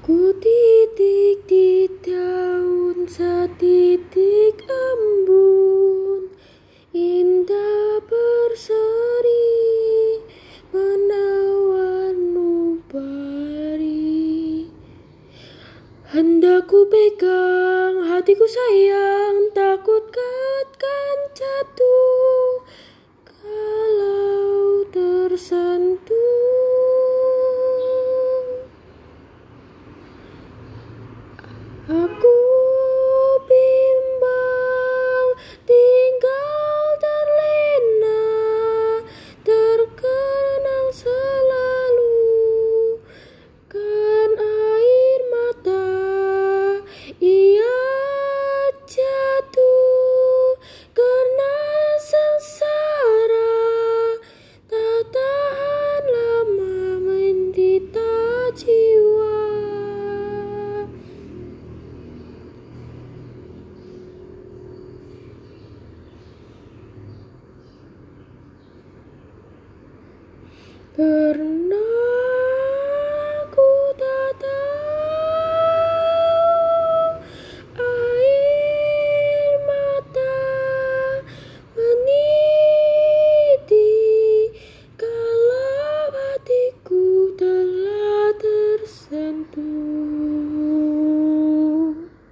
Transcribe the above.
Ku titik di daun setitik embun, indah berseri menawan nubari. Hendak ku pegang hatiku sayang, takut kan jatuh kalau tersentuh. Aku bimbang tinggal terlena, terkenang selalu kan air mata. Ia jatuh karena sengsara, tak tahan lama mendita jiwa. Pernah